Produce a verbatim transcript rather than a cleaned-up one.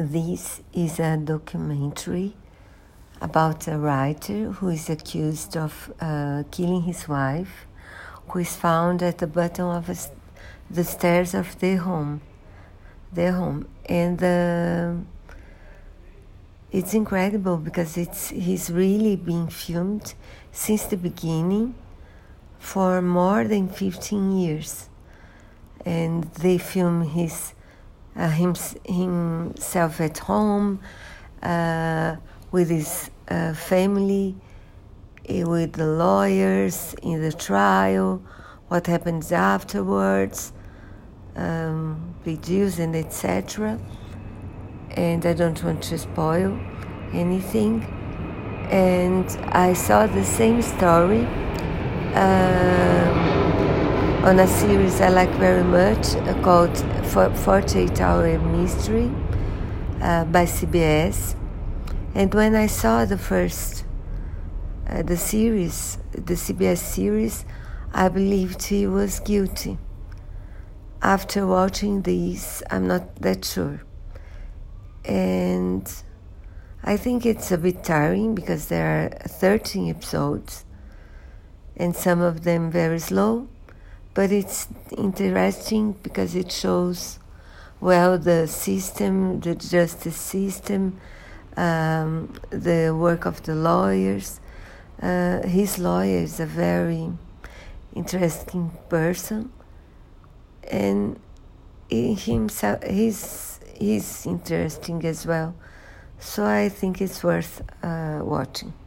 This is a documentary about a writer who is accused of uh, killing his wife, who is found at the bottom of a, the stairs of their home. Their home, and uh, it's incredible because it's he's really being filmed since the beginning for more than fifteen years, and they film his uh, him, himself at home uh, with his uh, family, with the lawyers in the trial, what happens afterwards, um, videos and et cetera. And I don't want to spoil anything. And I saw the same story um, on a series I like very much uh, called forty-eight hour Mystery uh, by C B S. And when I saw the first, uh, the series, the C B S series, I believed he was guilty. After watching these, I'm not that sure. And I think it's a bit tiring because there are thirteen episodes and some of them very slow, but it's interesting because it shows well the system, the justice system, um, the work of the lawyers. Uh, his lawyer is a very interesting person, and he himself he's He's interesting as well, so I think it's worth uh, watching.